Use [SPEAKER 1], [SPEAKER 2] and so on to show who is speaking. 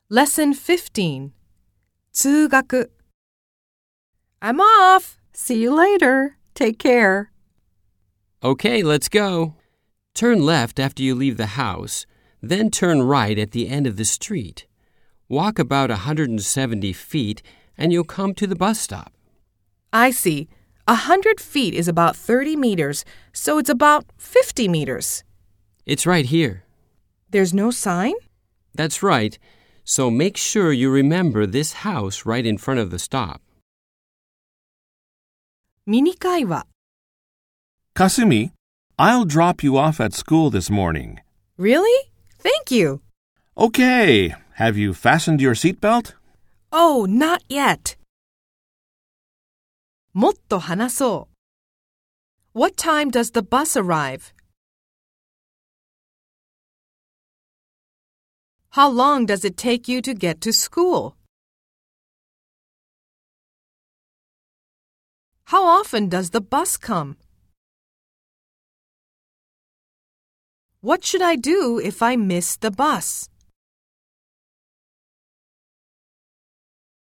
[SPEAKER 1] Lesson 15. 通学 I'm off.
[SPEAKER 2] See you later. Take care.
[SPEAKER 3] Okay, let's go. Turn left after you leave the house, then turn right at the end of the street. Walk about 170 feet and you'll come to the bus stop.
[SPEAKER 1] I see. 100 feet is about 30 meters, so it's about 50 meters.
[SPEAKER 3] It's right here.
[SPEAKER 1] There's no sign?
[SPEAKER 3] That's right. So make sure you remember this house right in front of the stop.
[SPEAKER 1] ミニ会話
[SPEAKER 4] Kasumi, I'll drop you off at school this morning.
[SPEAKER 1] Really? Thank you.
[SPEAKER 4] Okay. Have you fastened your seatbelt?
[SPEAKER 1] Oh, not yet. もっと話そう。What time does the bus arrive? How long does it take you to get to school? How often does the bus come? What should I do if I miss the bus?